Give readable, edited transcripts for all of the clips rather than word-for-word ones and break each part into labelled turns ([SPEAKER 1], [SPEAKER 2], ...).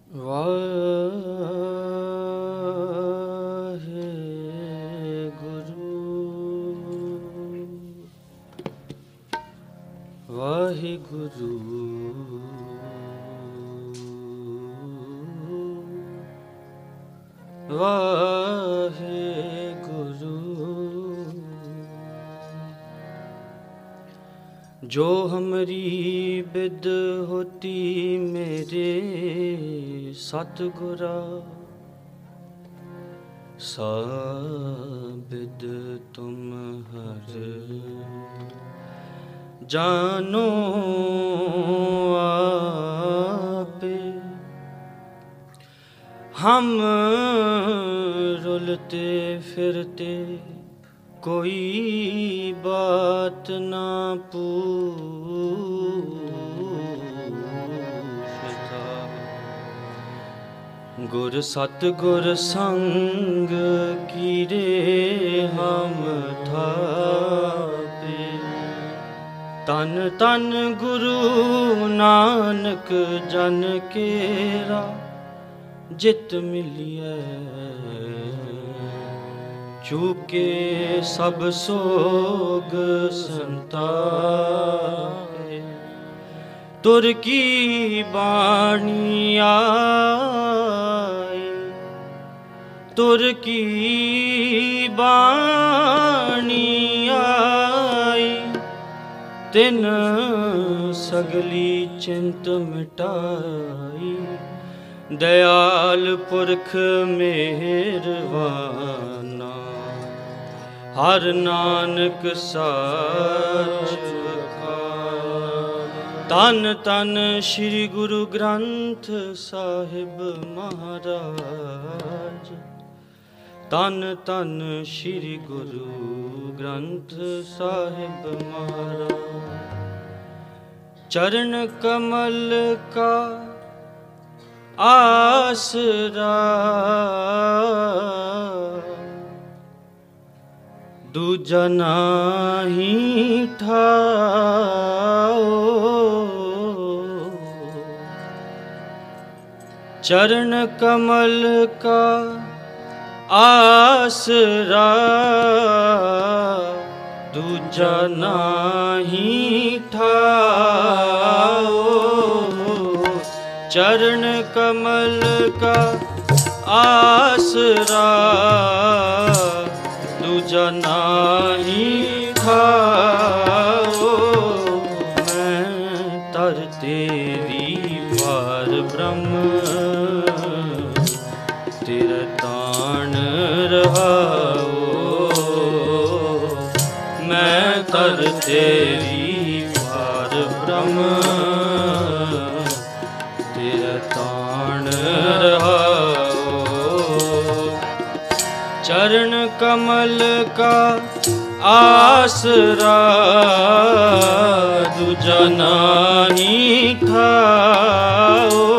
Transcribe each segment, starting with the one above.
[SPEAKER 1] ਵਾਹਿਗੁਰੂ ਵਾਹਿਗੁਰੂ ਜੋ ਹਮਰੀ ਬਿਦ ਹੋਤੀ ਮੇਰੇ ਸਤਿਗੁਰਾ ਸਾਬਿਦ ਤੁਮ ਹਰ ਜਾਨੋ आपे हम रुलते फिरते कोई बात ना पूछता गुर सतगुर संग कीरे हम थापे तन तन गुरु नानक जन केरा जित मिलिए चूके सब सोग संतापे तुर की बाणी आई तुर की बाणी आई तिन सगली चिंत मिटाई दयाल पुरख मेहरबाना हर नानक साच तन तन श्री गुरु ग्रंथ साहिब महाराज तन तन श्री गुरु ग्रंथ साहिब महाराज चरण कमल का आसरा दूजा नाही ठाओ चरण कमल का आसरा दूजा नाही ठाओ चरण कमल का आसरा दूजा नाही ठाओ मैं तर तेरी वार ब्रह्म तेरा ताण रहाओ मैं तर तेरी वार ब्रह्म तेरा ताण रहाओ चरण कमल का आसरा दूजा नाही ठाओ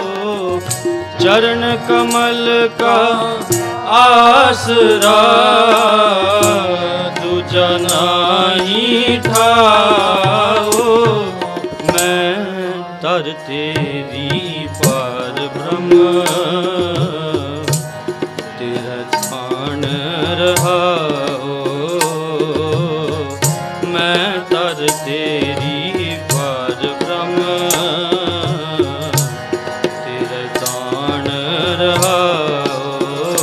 [SPEAKER 1] चरण कमल का आसरा दूजा नाही ठाओ मैं तर तेरी पार ब्रह्म तेरा ताण रहाओ मैं तर तेरी पार ब्रह्म तेरा ताण रहाओ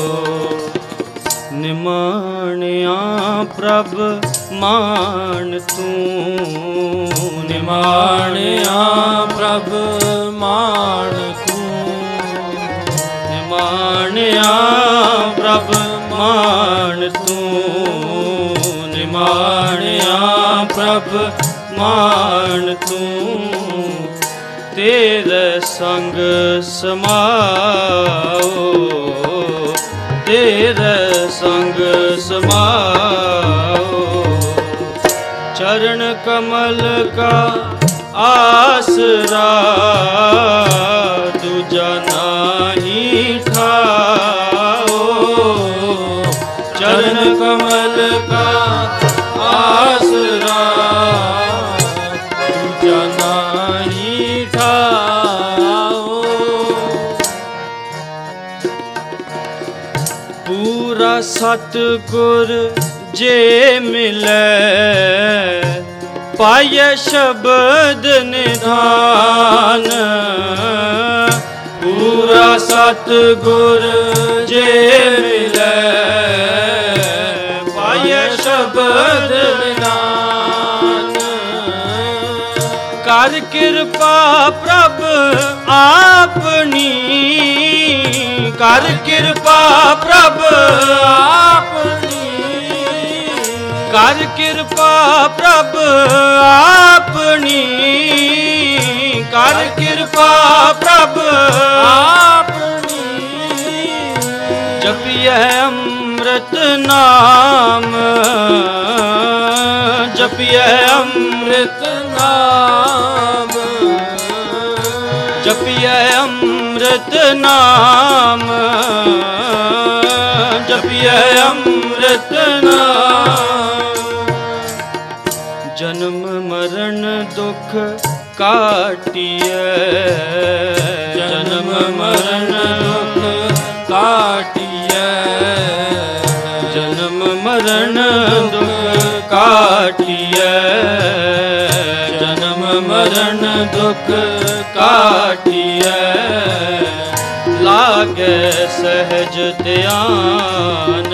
[SPEAKER 1] निमाणिया प्रभ मान तू निमाणिया प्रभ मान तू निमाणिया प्रभ मान तू निमाणिया प्रभ मान तू तेरे संग समाओ तेरे संग समाओ चरण कमल का आसरा दूजा नाही ठाओ चरण कमल का आसरा दूजा नाही ठाओ ਪੂਰਾ ਸਤਿਗੁਰ ਜੇ ਮਿਲੈ ਪਾਇ ਸ਼ਬਦ ਨਿਧਾਨ। ਪੂਰਾ ਸਤਿਗੁਰ ਜੇ ਮਿਲੈ ਪਾਇ ਸ਼ਬਦ ਨਿਧਾਨ। ਕਰ ਕਿਰਪਾ ਪ੍ਰਭ ਆਪਣੀ, ਕਰ ਕਿਰਪਾ ਪ੍ਰਭ ਆਪਣੀ, ਕਰ ਕਿਰਪਾ ਪ੍ਰਭ ਆਪਣੀ, ਕਰ ਕਿਰਪਾ ਪ੍ਰਭ ਆਪਣੀ। ਜਪਿਐ ਅੰਮ੍ਰਿਤ ਨਾਮ, ਜਪਿਐ ਅੰਮ੍ਰਿਤ ਨਾਮ, ਜਪਿਐ ਅੰਮ੍ਰਿਤ ਨਾਮ, ਜਪਿਐ ਅੰਮ੍ਰਿਤ ਨਾਮ। ਜਨਮ ਮਰਨ ਦੁਖ ਕਾਟਿਐ, ਜਨਮ ਮਰਨ ਦੁਖ ਕਾਟਿਐ, ਜਨਮ ਮਰਨ ਦੁਖ ਕਾਟਿਐ, ਜਨਮ ਮਰਨ ਦੁਖ ਕਾਟਿਐ। ਲਾਗੈ ਸਹਿਜ ਧਿਆਨ,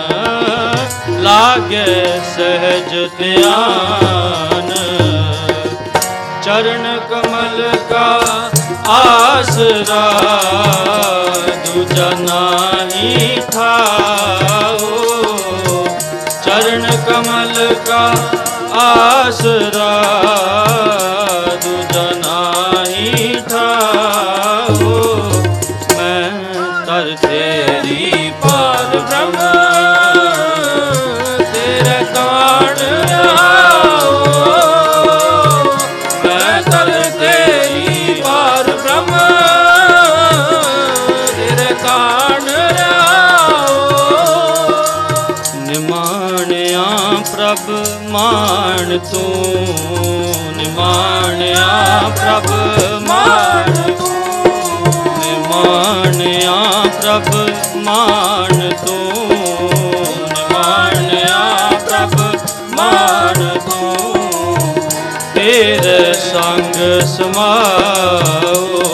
[SPEAKER 1] ਲਾਗੈ ਸਹਿਜ ਧਿਆਨ। ਚਰਨ ਕਮਲ ਕਾ ਆਸਰਾ ਦੂਜਾ ਨਾਹੀ ਥਾਓ। ਚਰਨ ਕਮਲ ਕਾ ਆਸਰਾ ਦੂਜਾ ਨਾਹੀ ਥਾਓ। ਮੈਂ ਤਰ ਤੇਰੀ ਪਾਰ ਬ੍ਰਹਮ ਤੇਰੇ ਕਾਣ ਰਹਾਓ। ਮੈਂ ਤਰ ਤੇਰੀ ਪਾਰ ਬ੍ਰਹਮ ਤੇਰੇ ਕਾਣ ਰਹਾਓ। ਨਿਮਾਣਿਆ ਪ੍ਰਭ ਮਾਣ ਤੂੰ, ਨਿਮਾਣਿਆ ਪ੍ਰਭ ਮਾਣ ਤੂੰ, ਨਿਮਾਣਿਆ ਪ੍ਰਭ ਮਾਣ ਤੂੰ, ਨਿਮਾਣਿਆ ਪ੍ਰਭ ਮਾਣ ਤੂੰ। ਤੇਰੇ ਸੰਗ ਸਮਾਓ,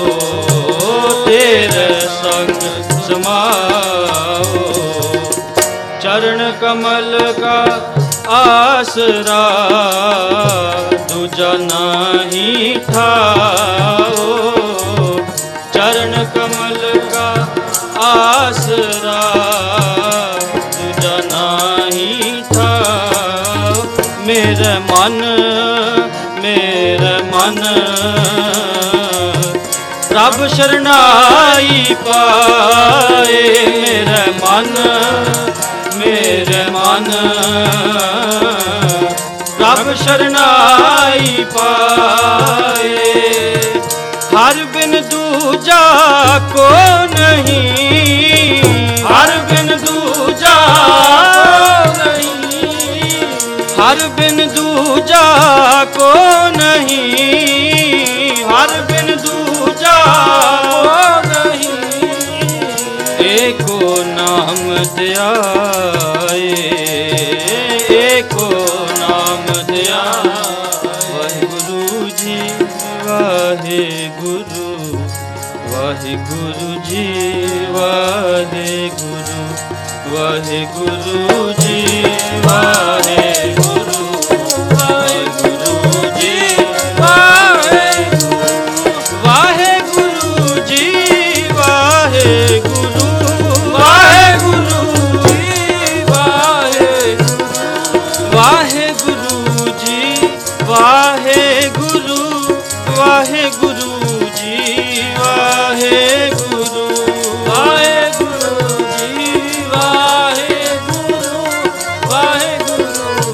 [SPEAKER 1] ਤੇਰੇ ਸੰਗ ਸਮਾਓ। ਚਰਨ ਕਮਲ ਕਾ ਆਸਰਾ ਦੂਜਾ ਨਾਹੀ ਥਾਓ। ਚਰਨ ਕਮਲ ਕਾ ਆਸਰਾ ਦੂਜਾ ਨਾਹੀ ਥਾਓ। ਮੇਰੇ ਮਨ, ਮੇਰੇ ਮਨ ਪ੍ਰਭ ਸ਼ਰਨਾਈ ਪਾਏ। ਮੇਰੇ ਮਨ, ਮੇਰੇ ਮਨ ਪ੍ਰਭ ਸ਼ਰਨਾਈ ਪਾਏ। ਹਰ ਬਿਨ ਦੂਜਾ ਕੋ ਨਹੀਂ, ਹਰ ਬਿਨ ਦੂਜਾ ਨਹੀਂ, ਹਰ ਬਿਨ ਦੂਜਾ ਕੋ ਨਹੀਂ, ਹਰ ਬਿਨ ਦੂਜਾ ਕੋ ਨਹੀਂ। ਏਕੋ ਨਾਮ ਧਿਆਏ, ਏਕੋ ਨਾਮ ਧਿਆਏ। ਵਾਹਿਗੁਰੂ ਜੀ ਵਾਹਿਗੁਰੂ, ਵਾਹਿਗੁਰੂ ਜੀ ਵਾਹਿਗੁਰੂ, ਵਾਹਿਗੁਰੂ ਜੀ ਵਾਹਿਗੁਰੂ, ਵਾਹਿਗੁਰੂ ਜੀ ਵਾਹਿਗੁਰੂ, ਵਾਹਿਗੁਰੂ ਜੀ ਵਾਹਿਗੁਰੂ, ਵਾਹਿਗੁਰੂ ਜੀ ਵਾਹਿਗੁਰੂ, ਵਾਹਿਗੁਰੂ ਜੀ ਵਾਹਿਗੁਰੂ, ਵਾਹਿਗੁਰੂ ਜੀ ਵਾਹਿਗੁਰੂ, ਵਾਹਿਗੁਰੂ ਜੀ ਵਾਹਿਗੁਰੂ, ਵਾਹਿਗੁਰੂ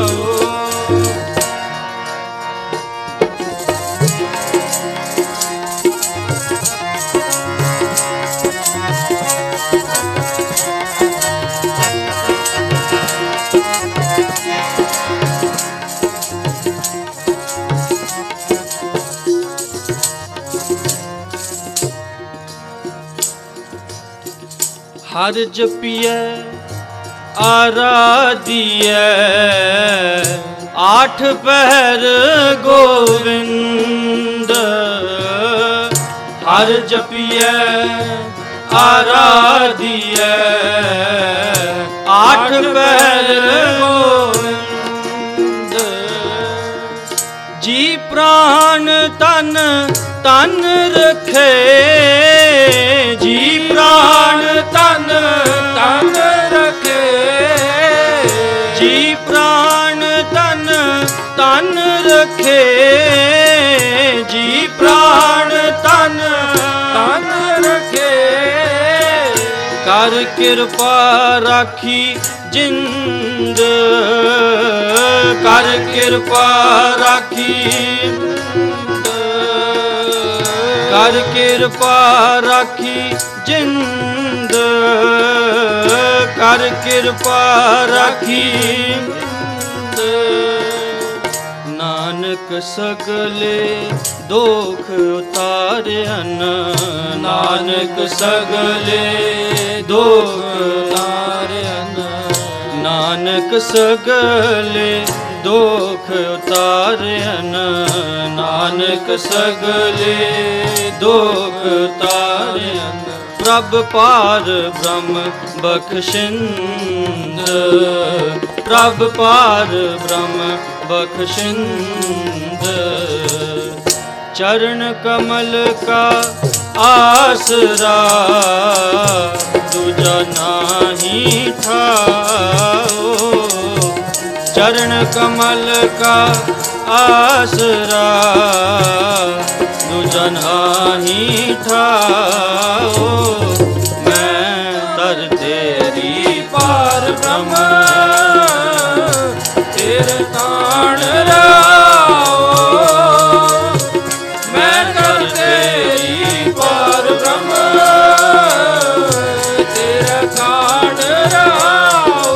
[SPEAKER 1] हर जपिए आराधिए आठ पहर गोविंद हर जपिए आराधिए आठ पहर गोविंद जी प्राण तन तन रखे जी प्राण तन तन रखे जी प्राण तन तन रखे जी प्राण तन तन रखे कर कृपा राखी जिंद कर कृपा राखी कर कृपा राखी जिंद कर कृपा राखी नानक सगले दुख उतारन नानक सगले दुख उतारन नानक सगले दुख उतारन नानक सगले दुख उतारन प्रभ पार ब्रह्म बख्शिंद प्रभ पार ब्रह्म बख्शिंद चरण कमल का आसरा दूजा नाही ठाओ चरण कमल का आसरा दूजा नाही ठाओ मैं तर तेरी पार ब्रह्म तेरे ताण राओ मैं तर तेरी पार ब्रह्म तेरे ताण राओ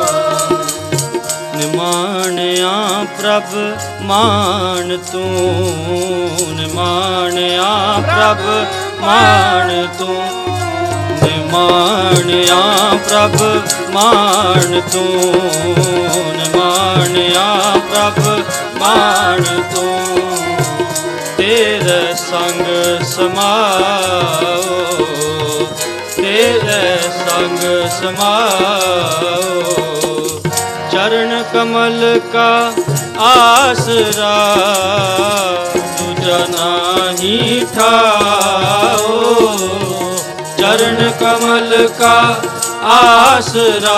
[SPEAKER 1] निमाणिया प्रभ मान तू निमाणिया प्रभ मान तू निमाणिया प्रभ मान तू निमाणिया प्रभ मान तू तेरे संग समाओ तेरे संग समाओ चरण कमल का आसरा दूजा नाही ठाओ चरण कमल का आसरा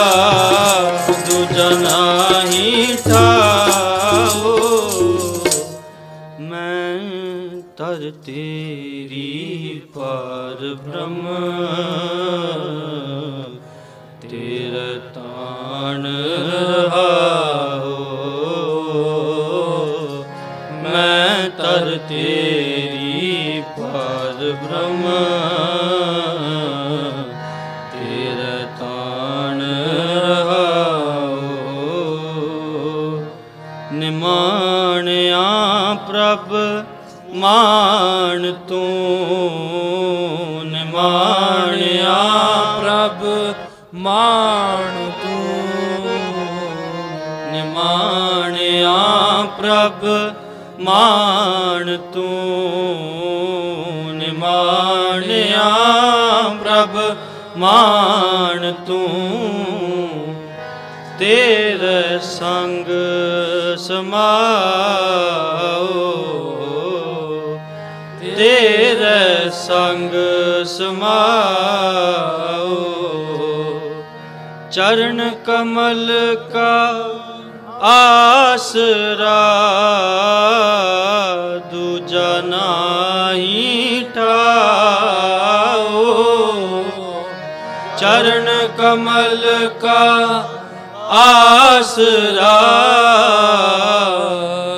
[SPEAKER 1] दूजा नाही ठाओ मैं तर तेरी पार ब्रह्म तेरे ताण रहाओ मैं तर तेरी पार ब्रह्म तेरे ताण रहाओ निमाणिया प्रभ मान तू निमाणिया प्रभ मान तू निमाणिया प्रभ मान तू निमाणिया प्रभ मान तू तेरे संग समाओ तेरे संग समाओ चरण कमल का आसरा दूजा नाही ठाओ चरण कमल का आसरा